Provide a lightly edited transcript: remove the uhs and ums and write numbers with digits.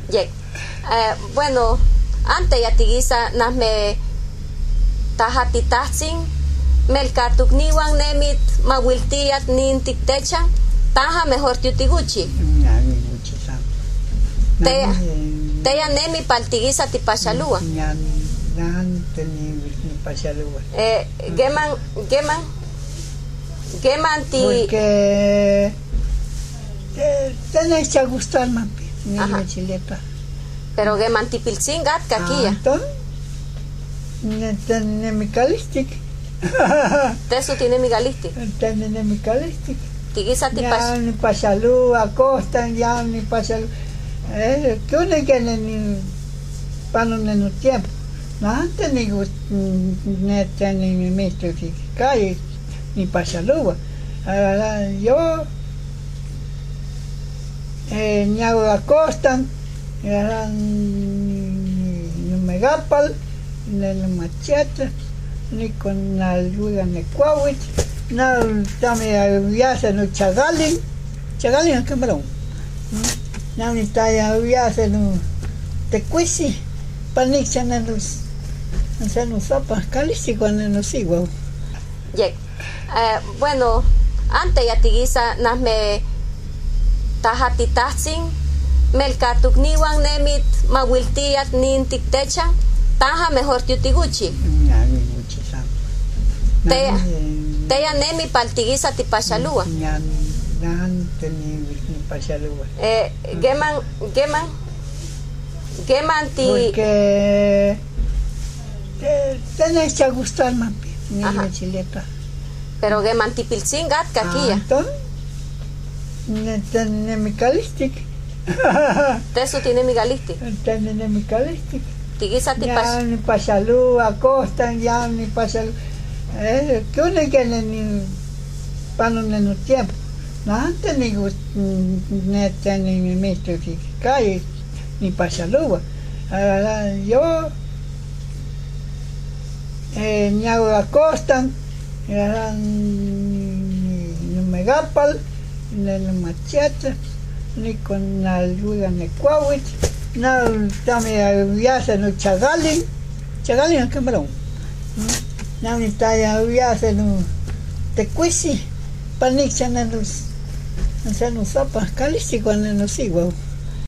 Yek. Bueno, antes ya tigisa nasme tajatitahtzin melkatukniwan nemit mawiltiyat nin tiktechan taja mejor tiutiguchi. Teya nemi paltigisa tipachalua. Geman ti. Porque tenéis que gustar más mi chileta. Pero geman ti pilsingat kakia. Entonces, tiene mi calistic. Tesu tiene mi galistic. Tiene mi calistic. Tigisa ya ni pachalú, acostan ya ni pachalú. Que uno que ni para no tiempo. No antes ni neta ni mi maestro que cae ni pachalú. Yo ni hago acostan, ni me gapal, ni machete, ni con la ayuda de cuauit. No, también viaje no chagalin en camarón. No, ni talla viaje no te cuisi, panic en los zapas calici cuando no sigo. Bueno, antes ya tigisa nasme tajatitahtzin melkatukniwan nemit mawiltiyat nin tiktechan taja mejor tiutiguchi. Teya nemi paltigisa tipachalua. Geman ti. Porque tenéis que gustar más mi chileta. Pero geman ti pilsingat kakia. Entonces, tiene mi calistic. Tesu tiene mi galistic. Tiene mi calistic. Tigisa ya ni pachalú, acostan ya ni pachalú. Que uno que ni para no tiempo. No antes ni neta ni mi maestro que cae ni pachalú. Yo ni hago acostan, ni me gapal, ni machete, ni con la ayuda de cuauit. No, también viaje no chagalin en camarón. No, ni talla viaje no te cuisi, panic en los zapas calici cuando no sigo.